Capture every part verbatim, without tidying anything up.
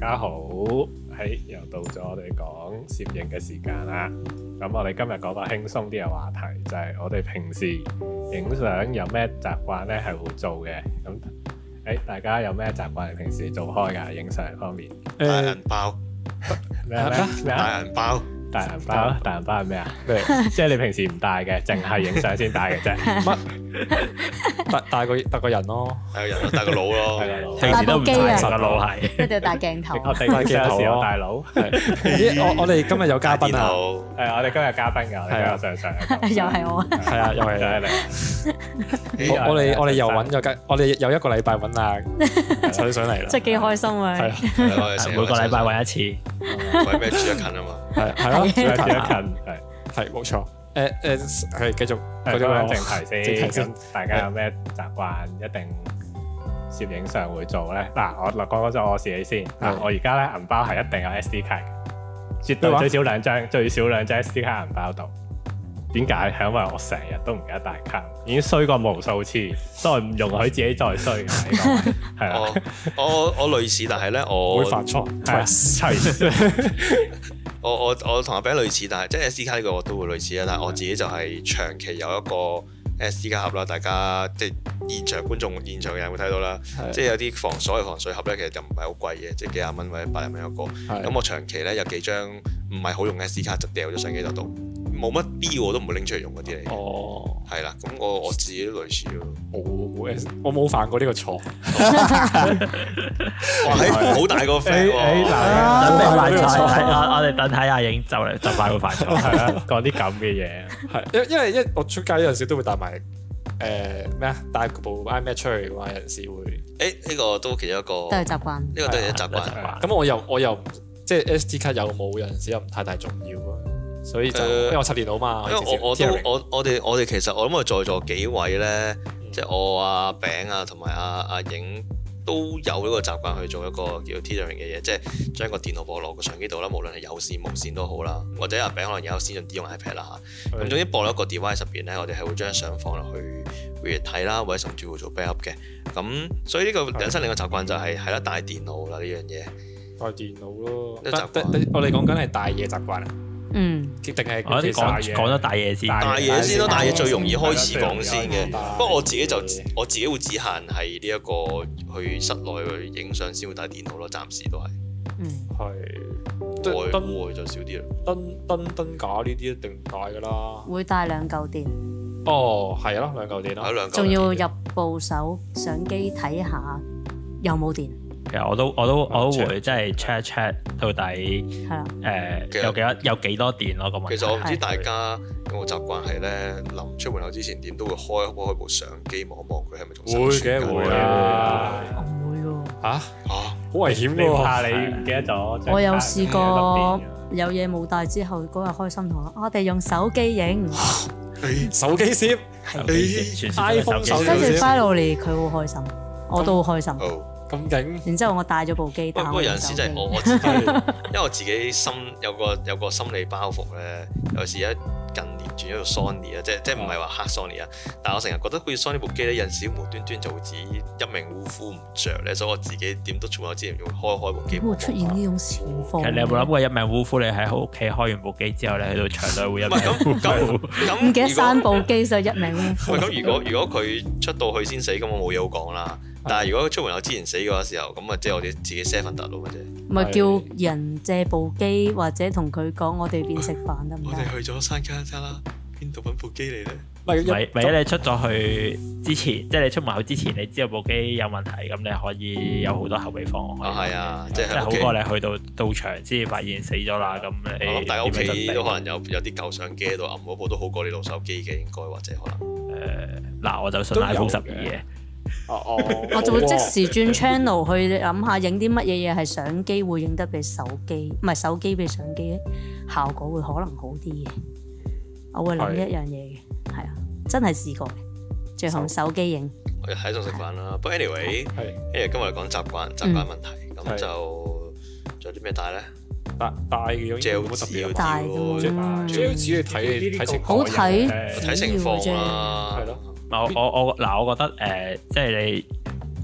家好，喺又到咗我哋講攝影嘅時間啦。咁我哋今日講個輕鬆啲嘅話題，就係、是、我哋平時影相有咩習慣咧係會做嘅。咁誒、欸，大家有咩習慣係平時做開㗎？影相方面， 帶銀包咩咩咩帶銀包。 大銀包，大銀包係咩啊？即係你平時唔帶嘅，淨係影相先帶嘅啫。乜？ 帶帶個帶個人咯， 帶個人咯，帶個腦咯。 平時都唔帶個腦係， 一定要帶鏡頭。 我哋影相時有帶腦。 咦？我我哋今日有嘉賓啊！ 係我哋今日嘉賓㗎，我哋今日上上。 又係我。 係啊，又係你。我我哋我哋又揾咗嘉，我哋有一個禮拜揾阿水上嚟啦。 即係幾開心啊！ 係啊， 每個禮拜揾一次。 為咩住得近啊嘛？ 係係咯，住得近係係冇錯。誒誒係繼續講緊正題先。咁大家有咩習慣一定攝影上會做咧？嗱，我講講咗我自己先。嗱，我而家咧銀包係一定有 S D 卡嘅，絕對最少兩張，最少兩張 S D 卡銀包度。點解？係因為我成日都唔記得帶卡，已經衰過無數次，所以唔容許自己再衰。係啊， 我我類似，但係咧我會發錯。 我我我同阿餅類似，但係即係 S D 卡呢個我都會類似啊。但係我自己就係長期有一個 S D 卡盒啦。大家即係現場觀眾、現場嘅人會睇到啦。即係有啲防水嘅防水盒咧，其實就唔係好貴嘅，即係幾廿蚊或者百零蚊一個。咁我長期咧有幾張唔係好用嘅 S D 卡就掉咗相機度，冇乜必要我都唔會拎出嚟用嗰啲嚟。哦，係啦，咁我我自己都類似咯。 我冇 S，我冇犯過呢個錯。 哇，好大個 friend 喎！ 準備犯錯，我我哋等睇下影就嚟就快會犯錯。 係啊，講啲咁嘅嘢。 係，因因為一我出街有陣時都會帶埋誒咩啊，帶部 iMac 出去嘅話，有陣時會。 誒，呢個都其中一個都係習慣， 呢個都係一習慣。 咁我又我又即係 S D 卡有冇有陣時又唔太大重要啊。所以就因為我插電腦嘛， 因為我我都我我哋我哋其實我諗我在座幾位咧，即係我阿餅啊同埋阿阿影都有呢個習慣去做一個叫 tethering 嘅嘢，即係將個電腦播落個相機度啦，無論係有線無線都好啦，或者阿餅可能有先進啲用 iPad 啦嚇。咁總之播落一個 device 入邊咧，我哋係會將相放落去回睇啦，或者甚至會做 backup 嘅。咁所以呢個引申另一個習慣就係係啦，帶電腦啦呢樣嘢。帶電腦咯，我哋講緊係帶嘢習慣啊。嗯，定係我哋講講咗大嘢先， 大嘢先咯，大嘢最容易開始講先嘅。不過我自己就我自己會只限係呢一個去室內去影相先會帶電腦咯，暫時都係。嗯，係。外戶就少啲啦。燈燈燈架呢啲一定帶㗎啦。 會帶兩嚿電。 哦，係咯，兩嚿電咯。 兩嚿。 仲要入部手相機睇下有冇電。其實我都我都我都會即係 check check 到底誒有幾多有幾多電咯咁。 其實我唔知大家有冇習慣係咧，臨出門口之前點都會開開部相機望一望佢係咪仲生存緊。 會嘅會啊， 我唔會喎。 嚇嚇，好危險喎！ 怕你唔記得咗。 我有試過有嘢冇帶之後，嗰日開心同我我哋用手機影。 手機攝 ，iPhone 手機。跟住 finally 佢好開心，我都好開心。 咁勁！ 然之後我帶咗部機， 不過有陣時就係我我自己，因為我自己心有個有個心理包袱咧。有時一近年轉咗做 Sony 啊，即係即係唔係話黑 Sony 啊，但係我成日覺得好似 Sony 部機咧，有陣時無端端就會自己一命嗚呼唔着咧，所以我自己點都從我之前要開開部機。 會出現呢種情況。 其實你有冇諗過一命嗚呼？你喺屋企開完部機之後咧，去到場內會一命嗚呼？ 唔記得閂部機就一命嗚呼。 咁如果如果佢出到去先死，咁我冇嘢好講啦。但係如果出門口之前死嘅時候，咁啊即係我哋自己 set 份特路嘅啫。 咪叫人借部機，或者同佢講我哋邊食飯得唔得？ 我哋去咗山卡沙啦，邊度揾部機嚟咧？ 咪咪你出咗去之前，即係你出門口之前，你知道部機有問題，咁你可以有好多後備方案。 啊係啊，即係好過你去到到場先發現死咗啦。咁你我諗大家屋企都可能有有啲舊相機喺度，揞嗰部都好過你部手機嘅，應該或者可能。 誒嗱，我就信 iPhone 十二嘅。 哦哦， 我就會即時轉 channel 去諗下影啲乜嘢嘢係相機會影得比手機，唔係手機比相機效果會可能好啲嘅。我會諗一樣嘢嘅，係啊，真係試過嘅，最後手機影。 我喺度食飯啦，不過 anyway，因為今日講習慣習慣問題，咁就仲有啲咩帶咧？帶帶嘅膠紙， 帶嘅膠紙你睇睇情況， 好睇睇情況啦， 係咯。 我我我嗱，我覺得誒，即係你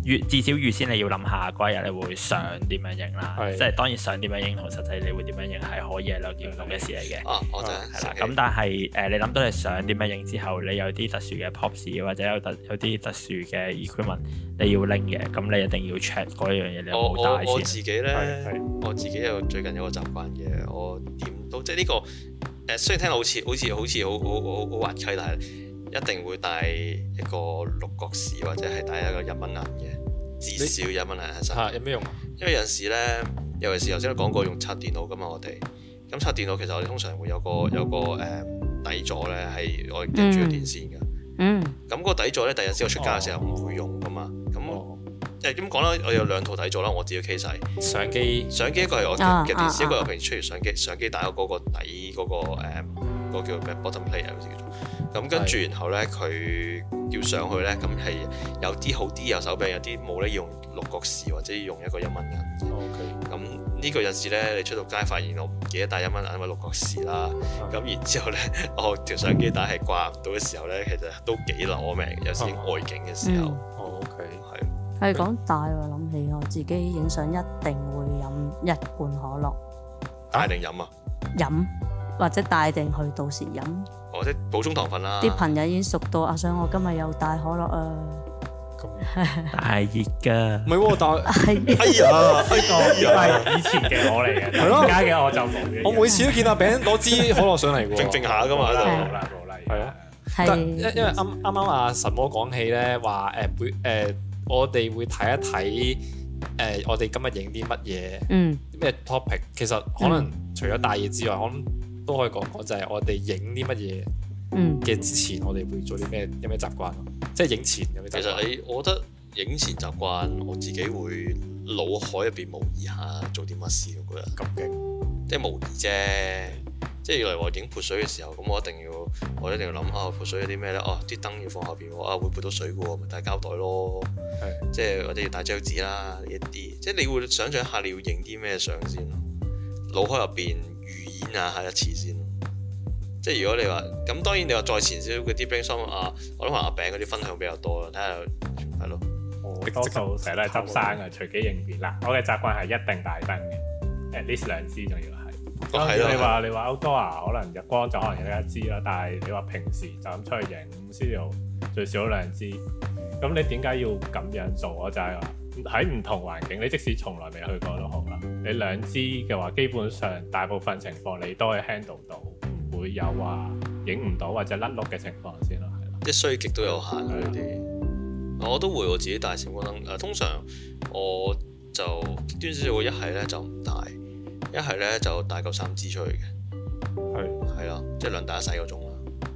預至少預先你要諗下嗰一日你會想點樣影啦，即係當然想點樣影同實際你會點樣影係可以係兩件唔同嘅事嚟嘅。 啊，我就係啦。咁但係誒，你諗到你想點樣影之後，你有啲特殊嘅 props 或者有特有啲特殊嘅 equipment 你要拎嘅，咁你一定要 check 嗰樣嘢你有冇帶先。 我我自己咧，我自己有最近有個習慣嘅，我點都即係呢個誒，雖然聽到好似好似好似好好好好滑稽，但係一定會帶一個六角匙或者係帶一個一蚊銀嘅，至少一蚊銀喺身。 有咩用啊？ 因為有陣時咧，尤其是頭先都講過用刷電腦噶嘛，我哋咁刷電腦其實我哋通常會有個有個誒、呃、底座咧，係我夾住個電線嘅。嗯。咁嗰個底座咧，第日先我出街嘅時候唔會用噶嘛。咁誒點講咧？我有兩套底座啦，我自己 case 係相機。相機一個係我嘅電視，一個係平時出嚟相機。相機帶咗嗰個底嗰、嗰個誒。呃嗰個叫咩 bottom plate 好似叫做，咁跟住然後咧佢要上去咧，咁係有啲好啲有手柄，有啲冇咧，用六角匙或者用一個一蚊銀。OK。咁呢個有時咧，你出到街發現我唔記得帶一蚊銀或者六角匙啦，咁、嗯、然之後咧，我條相機帶係掛唔到嘅時候咧，其實都幾攞命，有時外景嘅時候。 哦 OK。 係。 係講帶喎，諗起我自己影相一定會飲一罐可樂。 帶定飲啊？ 飲。或者帶定去到時飲， 或者補充糖分啦。 啲朋友已經熟到阿想我今日又帶可樂啊！ 大熱㗎， 唔係喎，但係哎呀，呢個係以前嘅我嚟嘅，而家嘅我就冇嘅。 我每次都見阿餅攞支可樂上嚟喎， 靜靜下㗎嘛，喺度。 冇啦冇啦， 係啊。但因因為啱啱啱阿神魔講起咧，話誒會誒我哋會睇一睇誒我哋今日影啲乜嘢，嗯，咩 topic，其實可能除咗帶嘢之外，可能都可以講講就係我哋影啲乜嘢嘅之前，我哋會做啲咩？有咩習慣？即係影前有咩習慣？ 其實你，我覺得影前習慣，我自己會腦海入邊模擬下做啲乜事，我覺得咁勁，即係模擬啫。即係例如話影潑水嘅時候，咁我一定要，我一定要諗下潑水有啲咩咧？哦，啲燈要放後邊喎，啊會潑到水嘅喎，咪帶膠袋咯。係，即係或者要帶張紙啦，呢一啲。即係你會想像一下你要影啲咩相先咯，腦海入邊預演下一次先。即係如果你話咁，當然你話再前少少嗰啲 brainstorm 啊，我諗話阿餅嗰啲分享比較多啦，睇下係咯。 我多數成日都係執生嘅，隨機應變啦。我嘅習慣係一定帶燈嘅，at least兩支仲要係。當然你話你話 outdoor 可能日光就可能有一支啦，但係你話平時就咁出去影，studio最少兩支。咁你點解要咁樣做？我就係話喺唔同環境，你即使從來未去過都好啦，你兩支嘅話，基本上大部分情況你都可以 handle 到。會有話影唔到或者甩碌嘅情況先咯，係咯。即係衰極都有限嗰啲。我都會我自己帶閃光燈。誒，通常我就極端少少，一係咧就唔帶，一係咧就帶夠三支出去嘅。係係咯，即係兩打一細嗰種啦。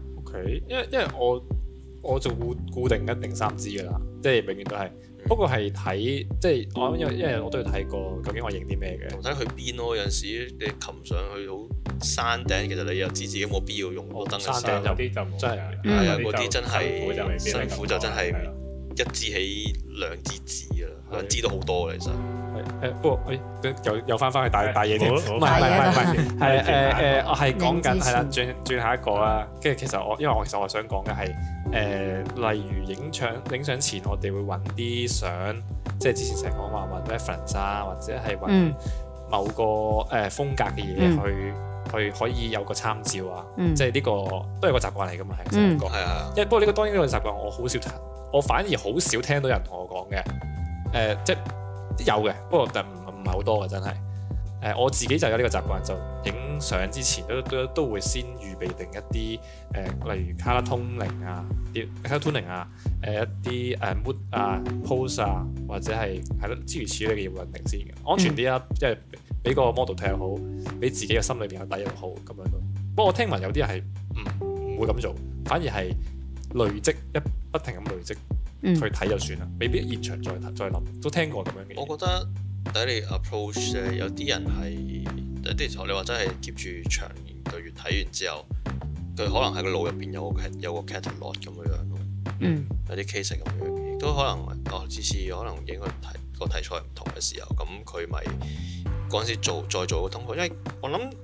OK，因為因為我我就固固定一定三支㗎啦，即係永遠都係。不過係睇即係我因為因為我都要睇過究竟我影啲咩嘅。同睇去邊咯，有陣時你擒上去好山頂，其實你又知自己冇必要用個燈嘅時候， 有啲就真係係啊，嗰啲真係辛苦就真係一支起兩支紙啊，兩支都好多其實。 係誒，不過誒又又翻返去帶帶嘢添，唔係唔係唔係係誒誒，我係講緊係啦，轉轉下一個啦。跟住其實我因為我其實我想講嘅係誒，例如影相影相前，我哋會揾啲相，即係之前成日講話揾 reference 啊，或者係揾某個誒風格嘅嘢去。去可以有個參照啊，嗯、即係呢個都係個習慣嚟㗎嘛，係成日講。係啊、嗯，因為不過呢個當然呢個習慣我好少聽，我反而好少聽到人同我講嘅。誒、呃，即係有嘅，不過但唔唔係好多嘅真係。誒、呃，我自己就有呢個習慣，就影相之前都都都會先預備定一啲誒、呃，例如 color toning 啊，啲 color toning 啊，誒、呃、一啲誒 mood 啊 pose 啊，或者係係咯諸如此類嘅嘢會定先嘅，安全啲啊，即係、嗯。俾個 model 睇又好，俾自己嘅心裏邊有底又好咁樣咯。不過我聽聞有啲人係唔唔會咁做，反而係累積一不停咁累積、嗯、去睇就算啦，未必現場再再諗。都聽過咁樣嘅。 我覺得睇你 approach 咧，有啲人係有啲時候你話真係 keep 住長年累月睇完之後，佢可能喺個腦入邊有個有個 catalog 咁樣樣咯。嗯，有啲 case 咁樣嘅，亦都可能哦，次次可能影個題個題材唔同嘅時候，咁佢咪。嗰陣時做再做個通告，因為我諗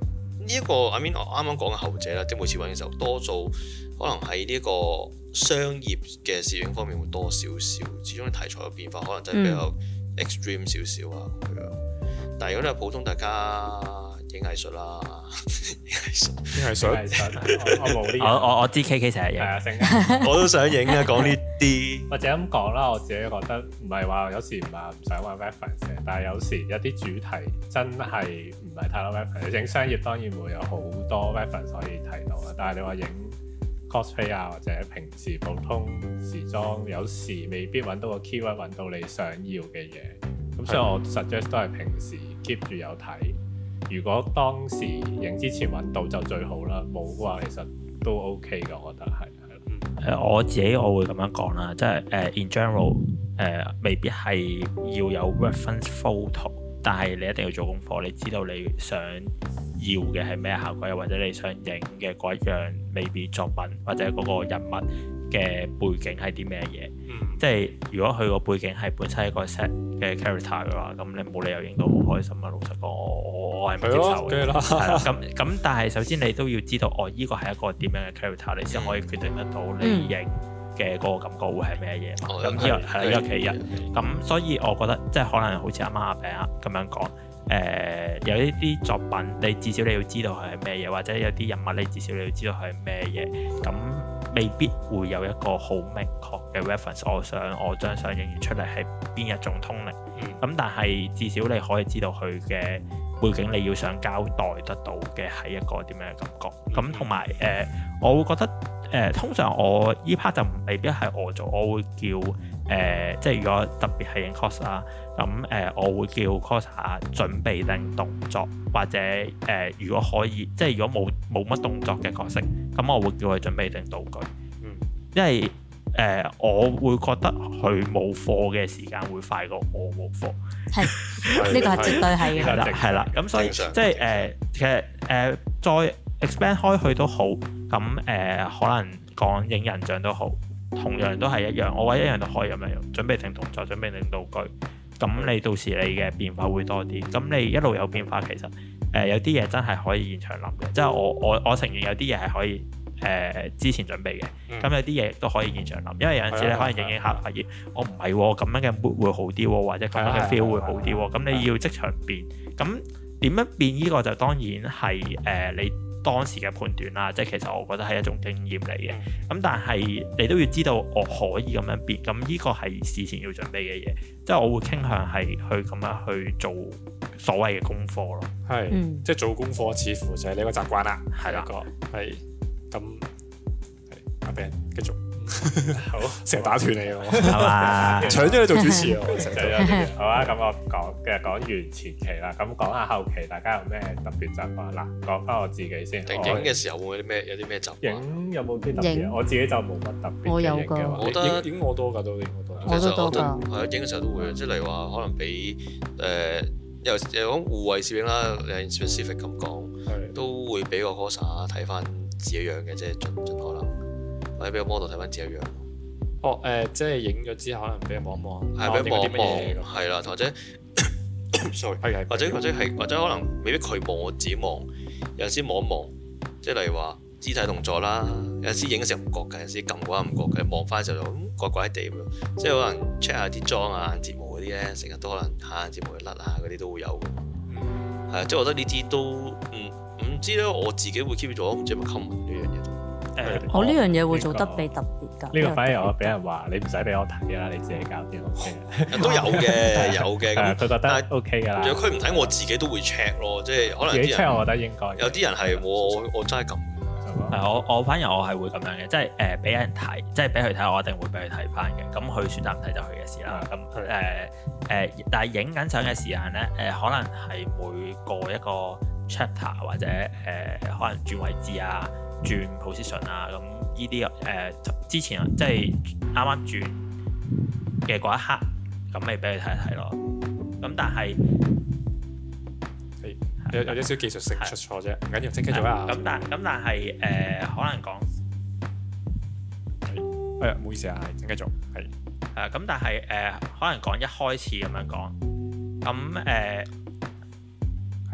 呢一個 I mean 我啱啱講嘅後者啦，即係每次揾嘅時候多做，可能喺呢個商業嘅攝影方面會多少少，始終啲題材嘅變化可能真係比較 extreme 少少啊咁樣。但係如果你係普通大家影藝術啦，影藝術， 影藝術， 我冇呢。 我我我知 K K 成日影， 係啊，星我都想影啊，講呢啲。 或者咁講啦，我自己覺得唔係話有時唔係唔想玩 reference 嘅，但係有時有啲主題真係唔係太多 reference。影商業當然會有好多 reference 可以睇到啊，但係你話影 cosplay 啊或者平時普通時裝，有時未必揾到個 keyword 揾到你想要嘅嘢。咁所以我 suggest 都係平時 keep 住有睇。如果當時影之前揾到就最好啦，冇嘅話其實都 OK 嘅，我覺得係。 誒、呃、我自己我會咁樣講啦，即係誒、uh, in general 誒、uh, 未必係要有 reference photo，但係你一定要做功課，你知道你想要嘅係咩效果，又或者你想影嘅嗰一樣未必作品或者嗰個人物嘅背景係啲咩嘢？嗯、即係如果佢個背景係本身係一個 set 嘅 character 嘅話，咁你冇理由影到好開心啊！老實講，我我係唔接受嘅。係啦，咁咁，但係首先你都要知道，哦，依個係一個點樣嘅 character，你先可以決定得到你影嘅嗰個感覺會係咩嘢嘛。咁呢個係一個其一。咁所以我覺得即係可能好似啱啱阿餅啊咁樣講。誒、呃、有一啲作品，你至少你要知道佢係咩嘢，或者有啲人物你至少你要知道佢係咩嘢，咁未必會有一個好明確嘅 reference。我想我張相影完出嚟係邊一種通靈，咁、嗯、但係至少你可以知道佢嘅背景，你要想交代得到嘅係一個點樣嘅感覺。咁同埋誒，我會覺得誒、呃，通常我依 part 就未必係我做，我會叫誒、呃，即係如果特別係影 cos 啦。咁誒、呃，我會叫 coser 準備定動作，或者誒、呃，如果可以，即係如果冇冇乜動作嘅角色，咁我會叫佢準備定道具。嗯，因為誒、呃，我會覺得佢冇貨嘅時間會快過我冇貨。係，呢個係絕對係嘅。係啦，係啦。咁所以即係誒，其實誒、呃、再 expand 開去都好。咁誒、呃，可能講影人像都好，同樣都係一樣。我話一樣都可以咁樣用，準備定動作，準備定道具。咁你到時你嘅變化會多啲，咁你一路有變化，其實誒、呃、有啲嘢真係可以現場諗嘅，即係我我我承認有啲嘢係可以誒、呃、之前準備嘅，咁、嗯、有啲嘢亦都可以現場諗，因為有陣時你可能影影下發現，我唔係喎，咁樣嘅 mood 會好啲喎，或者咁樣嘅 feel 會好啲喎，咁你要即場變，咁點樣變呢個就當然係誒、呃、你當時嘅判斷啦，即係其實我覺得係一種經驗嚟嘅，咁但係你都要知道我可以咁樣變，咁呢個係事前要準備嘅嘢，即係我會傾向係去咁樣去做所謂嘅功課咯， 係，嗯、即係做功課似乎就係你個習慣啦，係啦的， 係，咁係阿 Ben 繼續。好，成日打斷你喎，係嘛？搶咗你做主持啊！ 好啊，咁我講嘅講完前期啦，咁講下後期，大家有咩特別習慣？嗱，講翻我自己先。 影嘅時候會有啲咩？有啲咩習慣？ 影有冇啲特別？我自己就冇乜特別。 我有㗎， 我覺得影我多㗎，都影我多。 我都多㗎。 係啊，影嘅時候都會，即係例如話，可能俾誒又又講護衞攝影啦，誒 specific 咁講，都會俾個 coser 睇翻自己樣嘅，即係盡盡可能。或者俾個 model 睇翻自己樣。 哦，誒、呃，即係影咗之後，可能俾人望望。 係俾人望望，係啦，或者，sorry，或者或者係或者可能未必佢望，我自己望。有陣時望一望，即係例如話肢體動作啦。有陣時影嘅時候唔覺嘅，有陣時撳嗰下唔覺嘅，望翻嘅時候就咁怪怪地咁樣。即係可能 check 下啲妝啊、眼睫毛嗰啲咧，成日都可能下眼睫毛甩啊嗰啲都會有嘅。嗯。係啊，即係我覺得呢啲都唔唔知咧，我自己會 keep 住咗，唔知係咪 common 呢樣嘢。 誒，我呢樣嘢會做得比特別㗎。 呢個反而我俾人話你唔使俾我睇啦，你自己搞掂 OK 嘅。 都有嘅，有嘅。 咁佢覺得 OK 㗎啦。 如果佢唔睇，我自己都會 check 咯，即係可能。自己 check 我覺得應該。有啲人係我我我真係咁。 係我我反而我係會咁樣嘅，即係誒俾人睇，即係俾佢睇，我一定會俾佢睇翻嘅。咁佢選擇唔睇就佢嘅事啦。咁誒誒，但係影緊相嘅時間咧，誒、呃、可能係每過一個 chapter 或者誒、呃、可能轉位置啊。轉 position 啊，咁呢啲誒之前即係啱啱轉嘅嗰一刻，咁咪俾你睇一睇咯。咁但係有有啲少技術性出錯啫，唔緊要，請繼續啊。 咁但咁但係誒、呃、可能講係誒唔好意思啊，請繼續係誒咁，但係誒、呃、可能講一開始咁樣講，咁誒係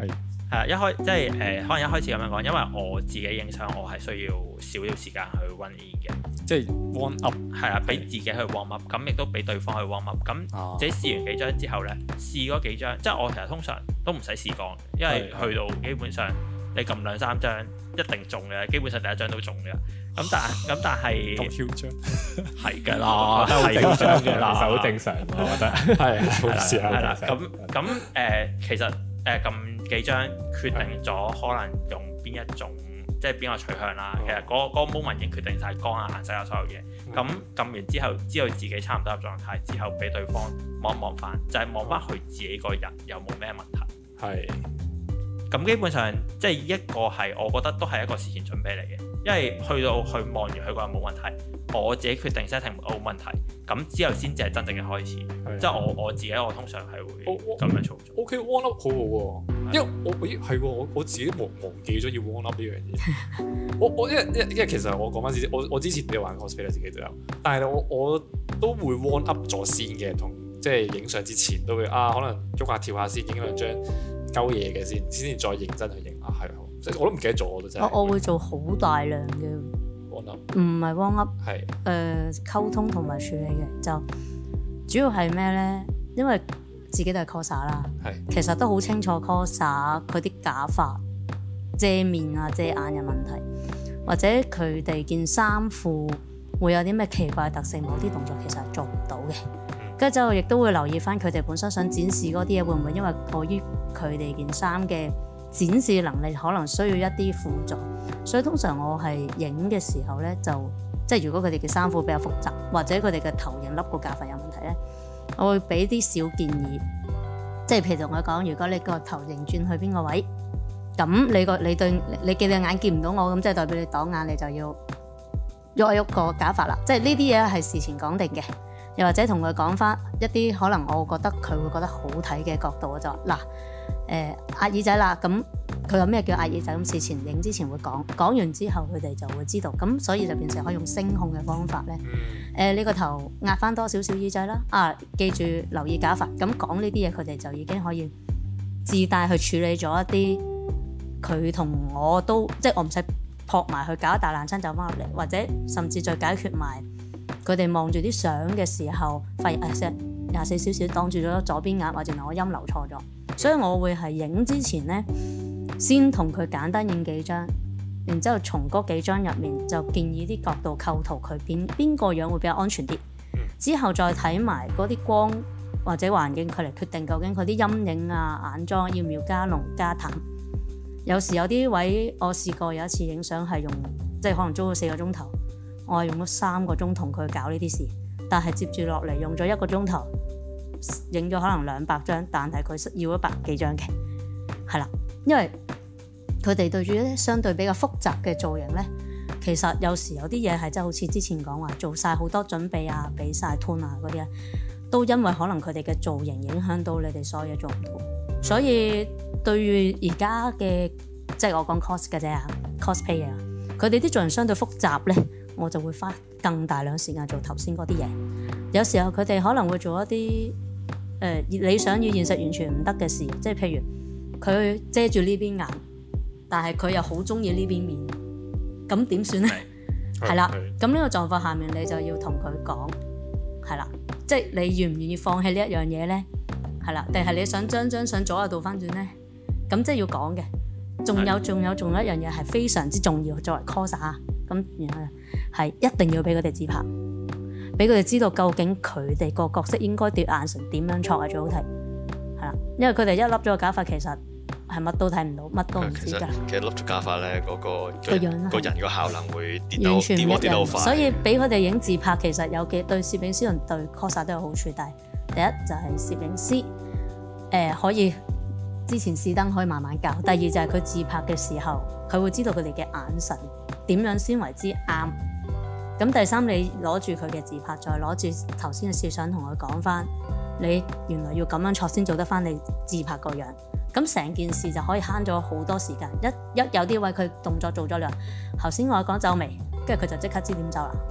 係啊，一開即係誒、呃，可能一開始咁樣講，因為我自己影相，我係需要少少時間去 run in 嘅， 即係 warm up， 係啊，俾自己去 warm up，咁亦都俾對方去 warm up。咁自己試完幾張之後咧，試嗰幾張，即係我其實通常都唔使試光，因為去到基本上你撳兩三張一定中嘅，基本上第一張都中嘅。咁但係咁但係咁囂張係㗎啦，係㗎啦， 其實好正常，我覺得係好事啊， 係啦，咁咁誒，其實誒撳幾張決定咗可能用邊一種，即係邊個取向啦。其實嗰嗰個 moment 已經決定晒光啊、顏色啊所有嘢。咁撳完之後，知道自己差唔多入狀態之後，俾對方望一望翻，就係望翻佢自己個人有冇咩問題。 係。 咁基本上即係一個係我覺得都係一個事前準備嚟嘅。因為去到去望完佢個人冇問題，我自己決定 setting 冇問題，咁之後先至係真正嘅開始。即係我我自己，我通常係會咁樣操作。 O K warm up 好好喎，因為我咦係喎，我我自己忘忘記咗要 warm up 呢樣嘢。我我因為因為其實我講翻先，我我之前都有玩 cosplay 自己都有，但係我我都會 warm up 咗先嘅，同即係影相之前都會啊，可能喐下跳下先，影兩張鳩嘢嘅先，先至再認真去影啊，係即係我都唔記得咗，我都真係。 我我會做好大量嘅 warm up， 唔係 warm up， 係誒溝通同埋處理嘅，就主要係咩咧？因為自己都係 coser 啦， 係其實都好清楚 coser 佢啲假髮遮面啊、遮眼嘅問題，或者佢哋件衫褲會有啲咩奇怪特性，某啲動作其實係做唔到嘅。跟住之後亦都會留意翻佢哋本身想展示嗰啲嘢，會唔會因為礙於佢哋件衫嘅展示能力可能需要一啲輔助，所以通常我係影嘅時候咧，就即係如果佢哋嘅衫褲比較複雜，或者佢哋嘅頭型笠個假髮有問題咧，我會俾啲小建議，即係譬如同佢講，如果你個頭型轉去邊個位，咁你個你對你嘅眼見唔到我，咁即係代表你擋眼，你就要喐一喐個假髮啦。即係呢啲嘢係事前講定嘅，又或者同佢講翻一啲可能我覺得佢會覺得好睇嘅角度，我就話嗱。誒壓、呃、耳仔啦，咁佢有咩叫壓耳仔？咁事前影之前會講，講完之後佢哋就會知道，咁所以就變成可以用聲控嘅方法咧。誒、呃，你個頭壓翻多少少耳仔啦，啊，記住留意假髮。咁講呢啲嘢，佢哋就已經可以自帶去處理咗一啲佢同我都，即係我唔使撲埋去搞一大爛親走翻入嚟，或者甚至再解決埋佢哋望住啲相嘅時候，發現誒廿四小時擋住咗左邊眼，或者我音流錯咗。所以我會係影之前咧，先同佢簡單影幾張，然之後從嗰幾張入面就建議啲角度構圖佢邊邊個樣會比較安全啲。之後再睇埋嗰啲光或者環境，佢嚟決定究竟佢啲陰影啊、眼妝要唔要加濃加淡。有時有啲位我試過有一次影相係用，即係可能租咗四個鐘頭，我係用咗三個鐘同佢搞呢啲事，但係接住落嚟用咗一個鐘頭。影咗可能兩百張，但係佢要一百幾張嘅，係啦，因為佢哋對住一啲相對比較複雜嘅造型咧，其實有時有啲嘢係真係好似之前講話做晒好多準備啊，俾晒 tone 啊嗰啲咧，都因為可能佢哋嘅造型影響到你哋所有嘢做唔到，所以對於而家嘅即係我講 cos 嘅啫 cosplay 啊，佢哋啲造型相對複雜咧，我就會花更大量時間做頭先嗰啲嘢。有時候佢哋可能會做一啲誒、呃、理想與現實完全唔得嘅事，即係譬如佢遮住呢邊眼，但係佢又好中意呢邊面，咁點算咧？係啦，咁呢個狀況下面你就要同佢講，係啦，即係你願唔願意放棄呢一樣嘢咧？係啦，定係你想將張相左右倒翻轉咧？咁即係要講嘅。仲有仲有仲有一樣嘢係非常之重要，作為 coser 咁，然後係一定要俾佢哋自拍。俾佢哋知道究竟佢哋個角色應該對眼神點樣錯係最好睇，係啦，因為佢哋一笠咗個假髮，其實係乜都睇唔到，乜都唔知㗎。 其實笠咗假髮咧，嗰、嗰個個樣個人個效能會跌到完全唔一樣， 跌到快。 所以俾佢哋影自拍，其實有幾對攝影師同對 coser 都有好處。但係第一就係攝影師誒、呃、可以之前試燈可以慢慢教，第二就係佢自拍嘅時候，佢會知道佢哋嘅眼神點樣先為之啱。咁第三，你攞住佢嘅自拍，再攞住頭先嘅攝相同佢講翻，你原來要咁樣錯先做得翻你自拍個樣。咁成件事就可以慳咗好多時間。一一有啲位佢動作做咗啦，頭先我講皺眉，跟住佢就即刻知點皺啦。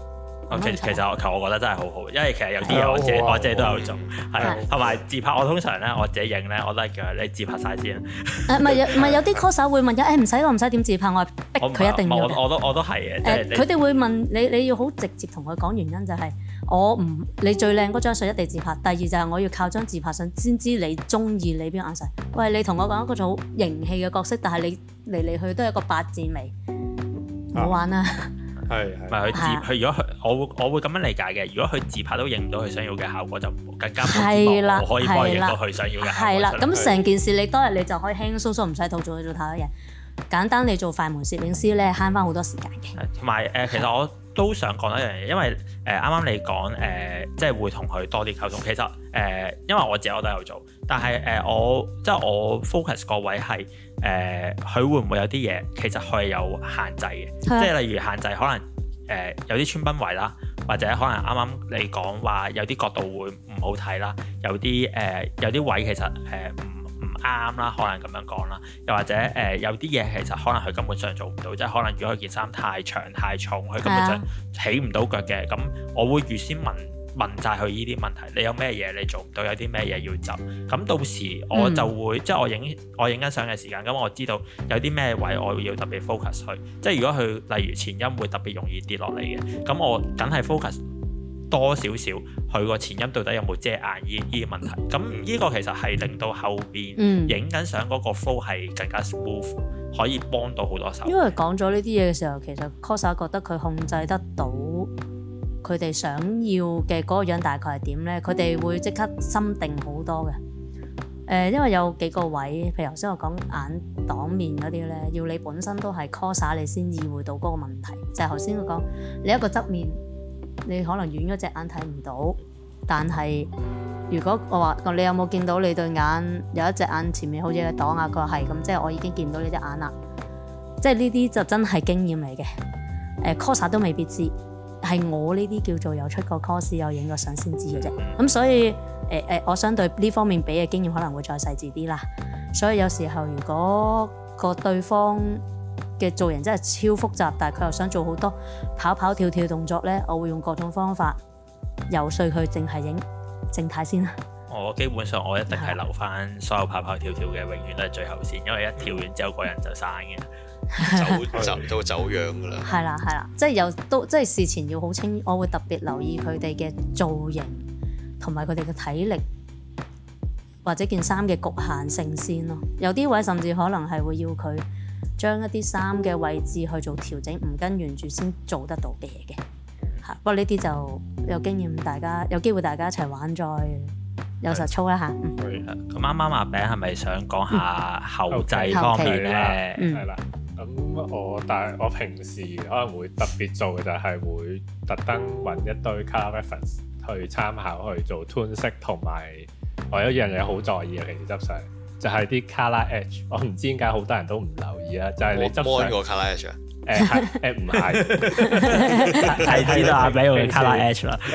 其其實其實我覺得真係好好，因為其實有啲嘢我自己我自己都有做，係同埋自拍我通常咧我自己影咧我都係叫你自拍晒先。誒唔係有唔係有啲 coser 會問誒唔使我唔使點自拍，我係逼佢一定要。 我都我都係嘅。 誒佢哋會問你你要好直接同佢講原因就係我唔你最靚嗰張相一定自拍，第二就係我要靠張自拍相先知你中意你邊個眼神。喂，你同我講一個好型氣嘅角色，但係你嚟嚟去都係一個八字眉，唔好玩啊！ 係係，咪佢自佢如果佢我會我會咁樣理解嘅。如果佢自拍都影唔到佢想要嘅效果，就更加冇啦，我可以幫佢影到佢想要嘅效果。係啦， 咁成件事你當日你就可以輕輕鬆鬆唔使套做做太多嘢，簡單你做快門攝影師咧慳翻好多時間嘅。 同埋誒，其實我都想講一樣嘢，因為誒啱啱你講誒、呃，即係會同佢多啲溝通。其實誒、呃，因為我自己我都有做，但係誒、呃、我即係我 focus 個位係。誒，佢、呃、會唔會有啲嘢其實佢係有限制嘅，即係例如限制可能誒、呃、有啲穿崩位啦，或者可能啱啱你講話有啲角度會唔好睇啦，有啲誒、呃、有啲位其實誒唔唔啱啦，可能咁樣講啦，又或者誒、呃、有啲嘢其實可能佢根本上做唔到，即係可能如果佢件衫太長太重，佢根本上起唔到腳嘅，咁我會預先問。問晒佢呢啲問題，你有咩嘢你做唔到，有啲咩嘢要走，咁到時我就會、嗯、即係我影我影緊相嘅時間，咁我知道有啲咩位我要特別 focus 去，即係如果佢例如前音會特別容易跌落嚟嘅，咁我梗係 focus 多少少佢個前音到底有冇遮眼呢呢啲問題，咁呢個其實係令到後邊影緊相嗰個 flow 係更加 smooth，可以幫到好多手。 因為講咗呢啲嘢嘅時候，其實 coser 覺得佢控制得到。佢哋想要嘅嗰個樣大概係點呢？佢哋會即刻心定好多嘅。誒、呃，因為有幾個位，譬如頭先我講眼擋面嗰啲呢，要你本身都係 coser 你先意會到嗰個問題。就係頭先我講，你一個側面，你可能遠嗰隻眼睇唔到，但係如果我話你有冇見到你對眼有一隻眼前面好似係擋啊？佢話係咁，即係我已經見到你隻眼啦。即係呢啲就真係經驗嚟嘅。誒、呃、coser 都未必知。係我呢啲叫做有出過 course 有影過相先知嘅啫，咁所以誒誒、呃呃，我相對呢方面俾嘅經驗可能會再細緻啲啦。所以有時候如果個對方嘅造型真係超複雜，但係佢又想做好多跑跑跳跳動作咧，我會用各種方法游說佢淨係影靜態先啦。 我基本上我一定係留翻所有跑跑跳跳嘅，永遠都係最後先，因為一跳完之後個人就散嘅。 走走都走樣㗎啦， 係啦係啦，即係有都即係事前要好清，我會特別留意佢哋嘅造型同埋佢哋嘅體力或者件衫嘅局限性先咯。有啲位甚至可能係會要佢將一啲衫嘅位置去做調整，唔跟原著先做得到嘅嘢嘅。嚇，不過呢啲就有經驗，大家有機會大家一齊玩再有實操啦嚇。 咁啱啱阿餅係咪想講下後製方面咧？ 係啦。咁我但係我平時可能會特別做嘅就係會特登揾一堆 color reference 去參考去做 tone 色，同埋我有一樣嘢好在意嘅，平時執相就係啲 color edge。我唔知點解好多人都唔留意啦，就係、是、你執相個 color edge 啊？誒係誒唔係， 係知道阿餅用 color edge 啦。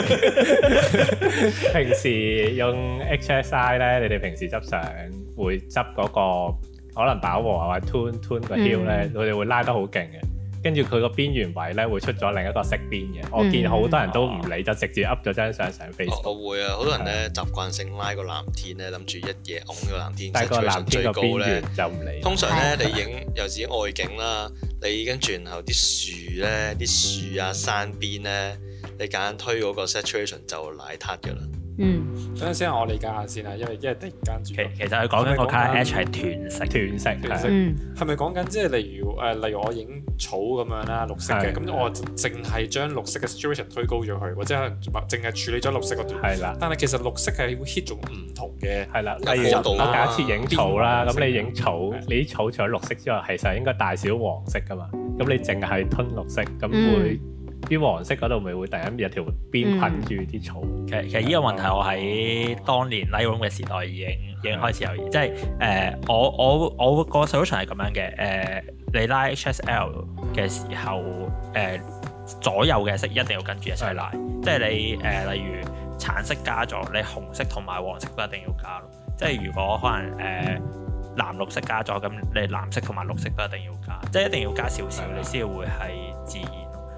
平時用 H S I 咧，你哋平時執相會執嗰、那個。可能飽和啊，或者 tune tune 個 hue 咧，佢哋會拉得好勁嘅，跟住佢個邊緣位咧會出咗另一個色邊嘅。我見好多人都唔理，就直接 up 咗張相上 Facebook。 我會啊，好多人咧習慣性拉個藍天咧，諗住一嘢拱個藍天， 但係個藍天個邊緣就唔理。 通常咧，你影有時外景啦，你跟住然後啲樹咧、啲樹啊、山邊咧，你揀推嗰個 saturation 就奶撻㗎啦。 嗯， 等陣先，我理解下先啊，因為因為突然間轉。 其其實佢講緊個 color edge 係斷色， 斷色， 斷色。係咪講緊即係例如誒，例如我影草咁樣啦，綠色嘅，咁我淨係將綠色嘅 saturation 推高咗佢，或者可能淨係處理咗綠色嗰段。係啦。但係其實綠色係會 hit 咗唔同嘅。係啦。 例如我假設影草啦，咁你影草，你啲草除咗綠色之外，其實應該大少黃色噶嘛。咁你淨係吞綠色，咁會。啲黃色嗰度咪會突然間有條邊困住啲草。 其實其實呢個問題我喺當年 Lightroom 嘅時代已經已經開始有意，即係誒我我我個 solution 係咁樣嘅，誒、呃、你拉 H S L 嘅時候，誒、呃、左右嘅色一定要跟住一齊拉，即係你誒、呃、例如橙色加咗，你紅色同埋黃色都一定要加咯。即係如果可能誒、呃、藍綠色加咗，咁你藍色同埋綠色都一定要加，即係一定要加少少，你先會係自然。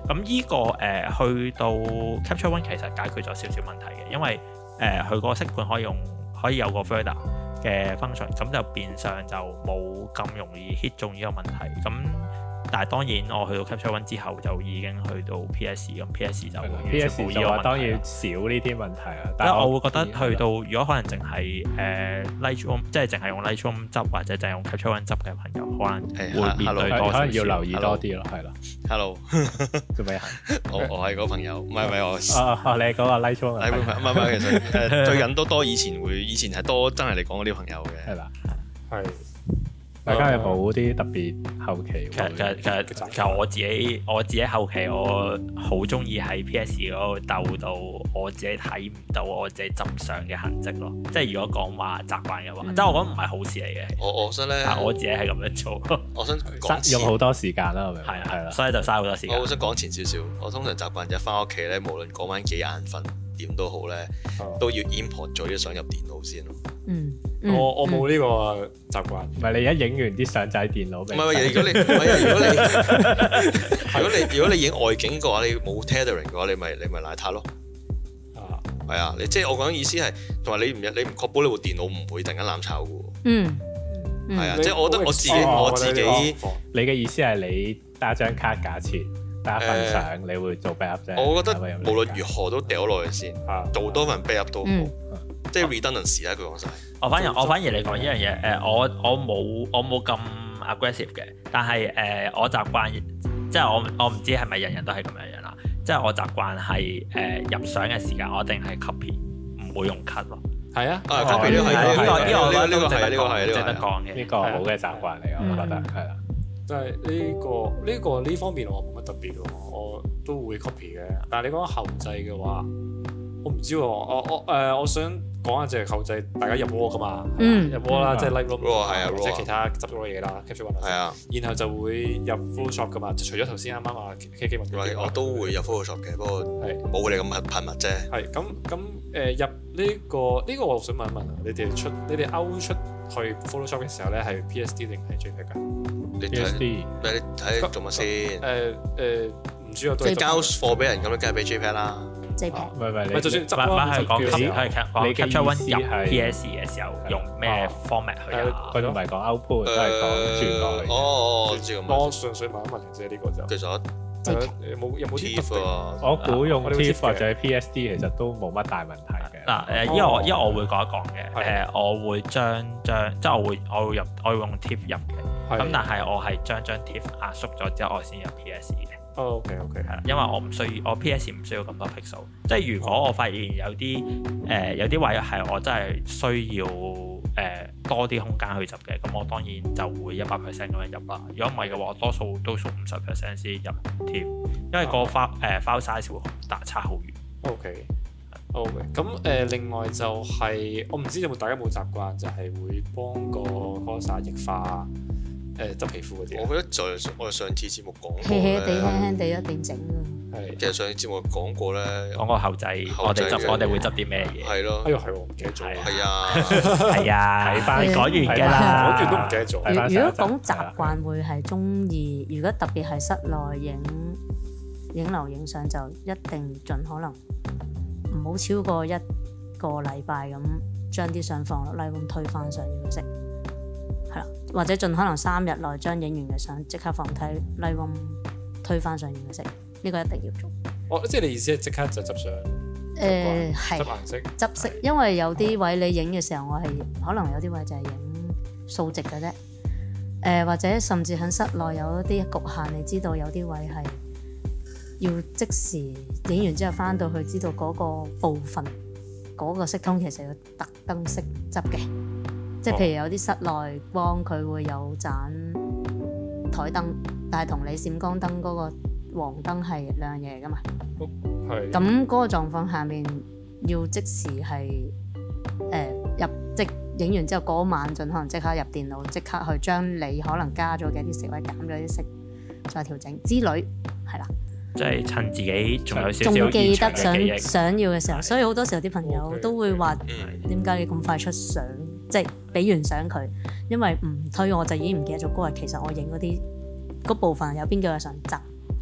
咁依、這個誒、呃、去到 Capture One 其實解決咗少少問題嘅，因為誒佢個色盤可以用可以有個 fader 嘅 function，咁就變相就冇咁容易 hit 中呢個問題。咁但係當然我去到 Capture One 之後就已經去到 P S 咁 P S 就完全冇呢個問題。當然少呢啲問題啊，但係我會覺得去到如果可能淨係誒 Lightroom 即係淨係用 Lightroom 執或者淨係用 Capture One 執嘅朋友，可能會面對多少少，可能要留意多啲咯，係啦。Hello， 做咩啊？ 我我係嗰個朋友，唔係唔係我。 哦哦，你係嗰個 Lightroom 啊？ 唔係唔係，其實誒最近都多，以前會以前係多真係你講嗰啲朋友嘅。 係啦， 係。 大家有冇啲特別後期？ 其實其實其實其實我自己我自己後期我好中意喺 P S 嗰度鬥到我自己睇唔到我自己執相嘅痕跡咯。即係如果講話習慣嘅話，即係我覺得唔係好事嚟嘅。 我我想咧， 但我自己係咁樣做。 我想講用好多時間啦，係咪？ 係啊係啦，所以就嘥好多時間。 我想講前少少，我通常習慣就翻屋企咧，無論嗰晚幾眼瞓點都好咧，都要 import 咗啲相入電腦先咯。 嗯。 我我冇呢個習慣。 唔係你一影完啲相仔喺電腦。唔係如果你唔係如果你如果你如果你影外景嘅話，你冇 tethering 嘅話，你咪你咪邋遢咯。啊，係啊，你即係我講嘅意思係，同埋你唔你唔確保你部電腦唔會突然間攬炒嘅喎。 嗯。 係啊，即係我覺得我自己我自己， 你嘅意思係你打張卡假設打一份相，你會做 backup 啫。 我覺得無論如何都掉落去先，做多份 backup 都好。即係 redundancy 啦，佢講晒。 我反而我反而嚟講呢樣嘢，誒我我冇我冇咁 aggressive 嘅，但係誒、呃、我習慣，即係我我唔知係咪人人都係咁樣樣啦。即係我習慣係誒、呃、入相嘅時間，我一定係 copy，唔會用 cut 咯。 係啊， 啊 copy 呢個係呢個呢個呢個係呢個係值得講嘅， 呢個好嘅習慣嚟，我覺得係啦。 即係呢個呢個呢方面我冇乜特別喎，我都會 copy 嘅。但係你講後製嘅話，我唔知喎，我我誒我想。講下就係後製，大家入 raw 噶嘛， 嗯、 入 raw 啦，即係 Lightroom 或者其他執咗嘅嘢啦 ，capture one 係啊， 然後就會入 Photoshop 噶嘛，就除咗頭先啱啱話 K K 問我都會入 Photoshop 嘅，不過係冇你咁頻密啫。係咁咁誒入呢、這個呢、這個我想問一問啊，你哋出你哋 out 出去 Photoshop 嘅時候咧係 P S D 定係 JPEG 㗎？ 你睇你睇做乜先？誒誒唔知啊， 即係交貨俾人咁，梗係俾 JPEG 啦。 唔係唔係， 你就算執翻係講你係講 Capture One 入 P S 嘅時候用咩 format 去啊？ 佢都唔係講 output，都係講轉落去。 哦哦，我知咁。 我純粹問一問啫，呢個就其實有冇有冇 T I F 啊？ 我估用 T I F 或者 P S D 其實都冇乜大問題嘅。 嗱誒，因為我因為我會講一講嘅誒，我會將將即係我會我會入我會用 T I F 入嘅，咁但係我係將張 T I F 壓縮咗之後，我先入 P S 嘅。 哦 OK OK 係啦，因為我唔需要我 P S 唔需要咁多 pixel，即係如果我發現有啲誒、呃、有啲位係我真係需要誒、呃、多啲空間去執嘅，咁我當然就會一百 percent 咁樣入啦。如果唔係嘅話，多數都數五十 percent 先入 T I F，因為個 file 誒 file size 會大差好遠。 OK OK，咁誒、呃、另外就係、是、我唔知有冇大家冇習慣，就係、是、會幫個 coser 液化。誒執皮膚嗰啲， 我覺得就係我哋上次節目講過咧，輕輕地輕輕地一定整啊。 係，其實上次節目講過咧， 講個後製，我哋執我哋會執啲咩嘢？ 係咯， 哎呦係喎，唔記得咗。 係啊， 係啊，睇翻講完嘅啦， 講完都唔記得咗。 如果講習慣會係中意，如果特別係室內影影樓影相，就一定盡可能唔好超過一個禮拜咁將啲相放落 Lightroom 推翻上要色。或者盡可能三日內將影完嘅相即刻放低 Lightroom 推翻上原色，呢、這個一定要做。 哦，即係你意思係即刻就執相？ 誒係。執顏色。 執色，因為有啲位你影嘅時候，我係可能有啲位就係影數值嘅啫。誒、呃、或者甚至喺室內有一啲局限，你知道有啲位係要即時影完之後翻到去，知道嗰個部分嗰、那個色通其實要特登識執嘅。即係譬如有啲室內光佢會有盞台燈，但係同你閃光燈嗰個黃燈係兩樣嘢嚟㗎嘛。係。咁嗰個狀況下面要即時係誒、呃、入即影完之後嗰晚盡可能即刻入電腦，即刻去將你可能加咗嘅啲色或者減咗啲色再調整之類，係啦。即係趁自己仲有少少仲記得想想要嘅時候，所以好多時候啲朋友都會話：點解你咁快出相？即係俾完相佢，因為唔推我就已經唔記得咗嗰日其實我影嗰啲嗰部分有邊幾個想執，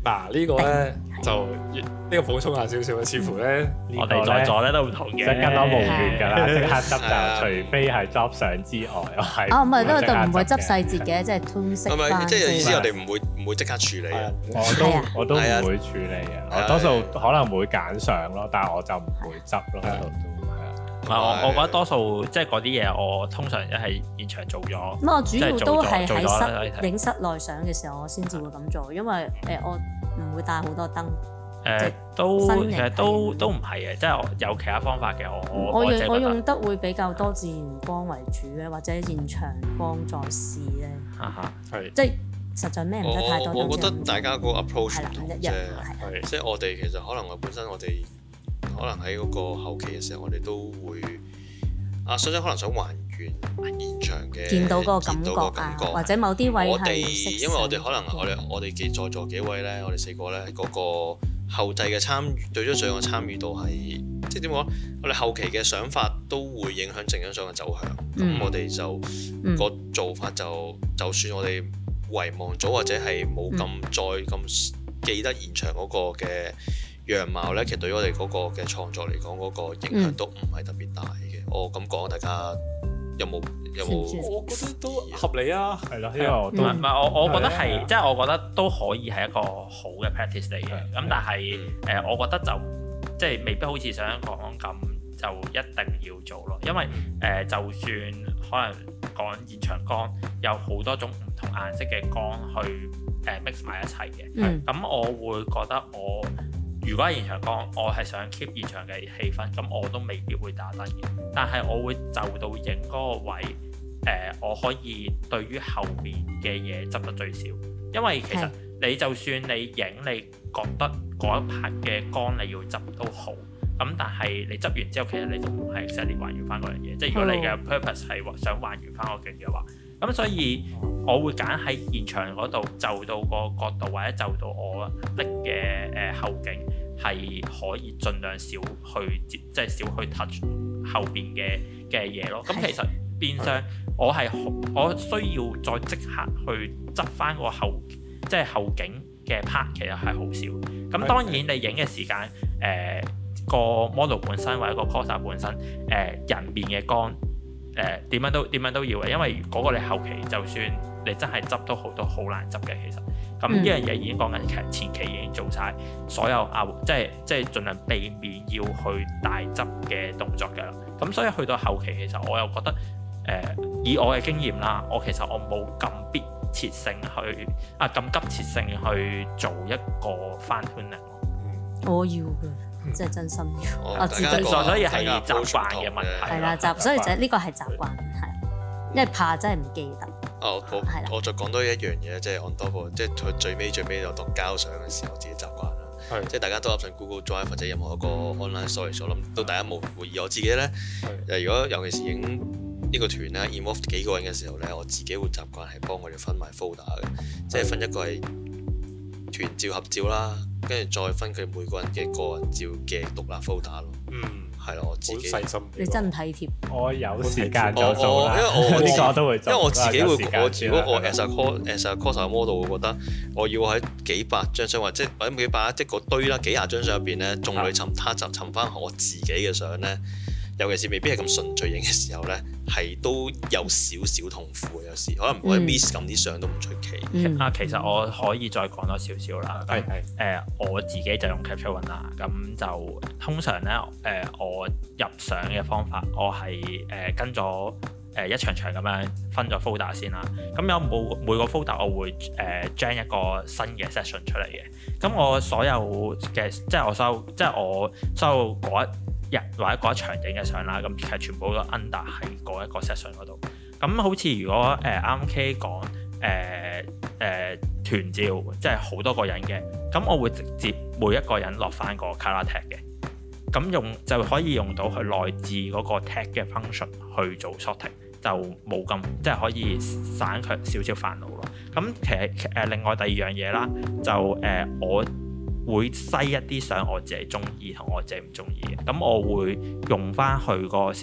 嗱呢個咧就呢個補充下少少，似乎咧我哋在座咧都唔同嘅， 即係跟我無緣㗎啦，即刻執就除非係執相之外，我係哦唔係都都唔會執細節嘅，即係吞識翻。 即係意思我哋唔會唔會即刻處理啊！ 我都我都唔會處理嘅，我多數可能會揀相咯，但係我就唔會執咯喺度都。 唔係我，我覺得多數即係嗰啲嘢，我通常一係現場做咗。 咁我主要都係喺室影室內相嘅時候，我先至會咁做，因為誒我唔會帶好多燈。 誒都其實都都唔係嘅，即係我有其他方法嘅。我我用我用得會比較多自然光為主咧，或者現場光再試咧。 哈哈，係即係實在咩唔得太多燈。 我覺得大家個 approach 唔同啫， 係即係我哋其實可能我本身我哋。可能喺嗰個後期嘅時候，我哋都會啊，所以可能想還原現場嘅見到嗰個感覺啊，或者某啲位係我哋因為我哋可能我哋我哋幾在座幾位咧，我哋四個咧嗰個後製嘅參與對咗相嘅參與度係即係點講？我哋後期嘅想法都會影響整張相嘅走向。咁、嗯、我哋就、嗯、個做法就就算我哋遺忘咗或者係冇咁再咁記得現場嗰個嘅樣貌咧，其實對於我哋嗰個嘅創作嚟講，嗰、嗰個影響都唔係特別大嘅。嗯、我咁講，大家有冇有冇？ 我覺得都合理啊，係咯， 因為我都唔係唔係我我覺得係，即係我覺得都可以係一個好嘅 practice 嚟嘅。咁但係誒，我覺得就即係未必好似想講咁，就一定要做咯。因為誒、呃，就算可能講現場光，有好多種唔同顏色嘅光去誒 mix 埋一齊嘅。咁、嗯、我會覺得我。如果係現場光，我係想 keep 現場嘅氣氛，咁我都未必會打燈嘅。但係我會就到影嗰個位，誒、呃，我可以對於後面嘅嘢執得最少。因為其實你就算你影，你覺得嗰一拍嘅光你要執都好，咁但係你執完之後，其實你都唔係 exactly 還原翻嗰樣嘢。即係如果你嘅 purpose 係想還原翻個景嘅話，咁所以我會揀喺現場嗰度就到個角度，或者就到我拎嘅誒後景係可以盡量少去接，即係少去 touch 後邊嘅嘅嘢咯。咁其實變相我係我需要再即刻去執翻個後，即係後景嘅 part，其實係好少。咁當然你影嘅時間，誒、呃、個 model 本身或者個 coser 本身，誒、呃、人面嘅光。誒點、呃、樣都點樣都要嘅，因為嗰個你後期就算你真係執都好多好難執嘅，其實咁呢樣嘢已經講緊其實前期已經做晒所有啊，即係即係盡量避免要去大執嘅動作㗎啦。咁所以去到後期，其實我又覺得誒、呃、以我嘅經驗啦，我其實我冇咁迫切性去啊咁急切性去做一個翻 tuning 咯。我要嘅。即係真心要， 哦、 我自己所以係習慣嘅問題。係啦， 習所以就呢個係習慣，係因為怕真係唔記得。 哦，我的我再講多一樣嘢，即係 on top，即係佢最尾最尾有當交相嘅時候，自己習慣啦。的即係大家都 up 上 Google Drive 或者任何一個 online storage，我諗到大家冇會議。我自己咧，的如果尤其是影呢個團咧 involve 幾個人嘅時候咧，我自己會習慣係幫佢哋分埋 folder 嘅，即係分一個係團照合照啦。跟住再分佢每個人嘅個人照嘅獨立 folder 咯。嗯，係咯，我自己細心。 你真體貼。 我有時間就做啦。 因為我呢個都會做。因為我自己會，我如果我 as a cos as a coser model，我覺得我要喺幾百張相或者或者幾百即係嗰堆啦，幾廿張相入邊咧，眾裏尋他就尋翻我自己嘅相咧。尤其是未必係咁順序影嘅時候咧，係都有少少痛苦嘅。有時可能我 miss 咁啲相都唔出奇。 嗯、啊，其實我可以再講多少少啦。係係、嗯。誒、呃，我自己就用 Capture One 啦。咁就通常咧，誒、呃，我入相嘅方法，我係誒、呃、跟咗誒一場場咁樣分咗 folder 先啦。咁有冇每個 folder 我會誒將、呃、一個新嘅 session 出嚟嘅。咁我所有嘅即係我所有即係我所有嗰一日或者嗰一場影嘅相啦，咁其實全部都 under 喺嗰一個 session 嗰度。咁好似如果誒啱、呃、K 講誒誒團照，即係好多個人嘅，咁我會直接每一個人落翻個 color tag 嘅，咁用就可以用到佢內置嗰個 tag 嘅 function 去做 sorting，就冇咁即係可以省卻少少煩惱咯。咁其實誒、呃、另外第二樣嘢啦，就誒、呃、我會篩一啲相我自己中意同我自己唔中意嘅，咁我會用翻佢個 system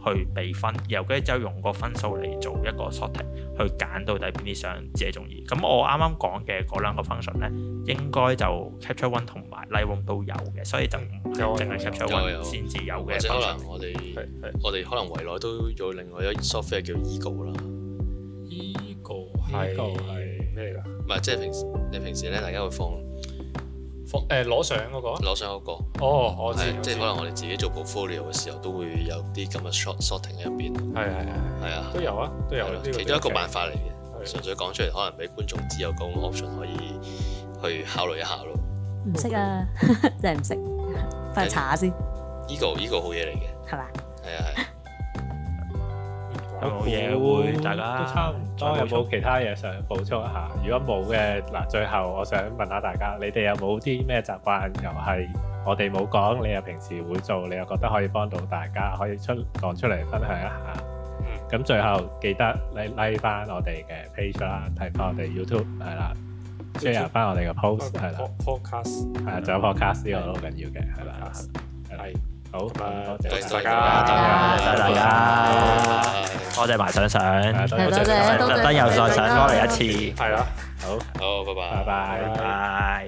去俾分，然後跟住之後用個分數嚟做一個 sorting，去揀到底邊啲相自己中意。咁我啱啱講嘅嗰兩個 function 咧，應該就 capture one 同埋 Lightroom 都有嘅，所以就唔係淨係 capture one 先至有嘅。 或者可能我哋我哋可能圍內都有另外一 software 叫 Ego 啦。 Ego 係咩嚟㗎？ 唔係即係平時你平時咧，大家會放。 誒攞相嗰個， 攞相嗰個， 哦，我知， 即係可能我哋自己做 portfolio 嘅時候，都會有啲咁嘅 short sorting 喺入邊。 係係係， 係啊， 都有啊，都有。 其中一個辦法嚟嘅，純粹講出嚟，可能俾觀眾知有個 option 可以去考慮一下咯。 唔識啊，真係唔識，翻去查下先。 呢個呢個好嘢嚟嘅， 係嘛？ 係啊係。 有冇嘢會大家都差唔多，有冇其他嘢想補充一下？如果冇嘅，嗱，最後我想問下大家，你哋有冇啲咩習慣又係我哋冇講，你又平時會做，你又覺得可以幫到大家，可以出講出嚟分享一下？咁、嗯、最後記得你 like 翻我哋嘅 page 啦，睇翻我哋 YouTube 係啦 ，share 翻我哋嘅 post 係啦 ，podcast 係啊，仲有 podcast 呢個都好緊要嘅係啦，係。好，多謝大家， 多謝大家，多謝埋上上， 多謝， 特登又再上多嚟一次， 係啦， 好，好，拜拜， 拜拜， 拜拜。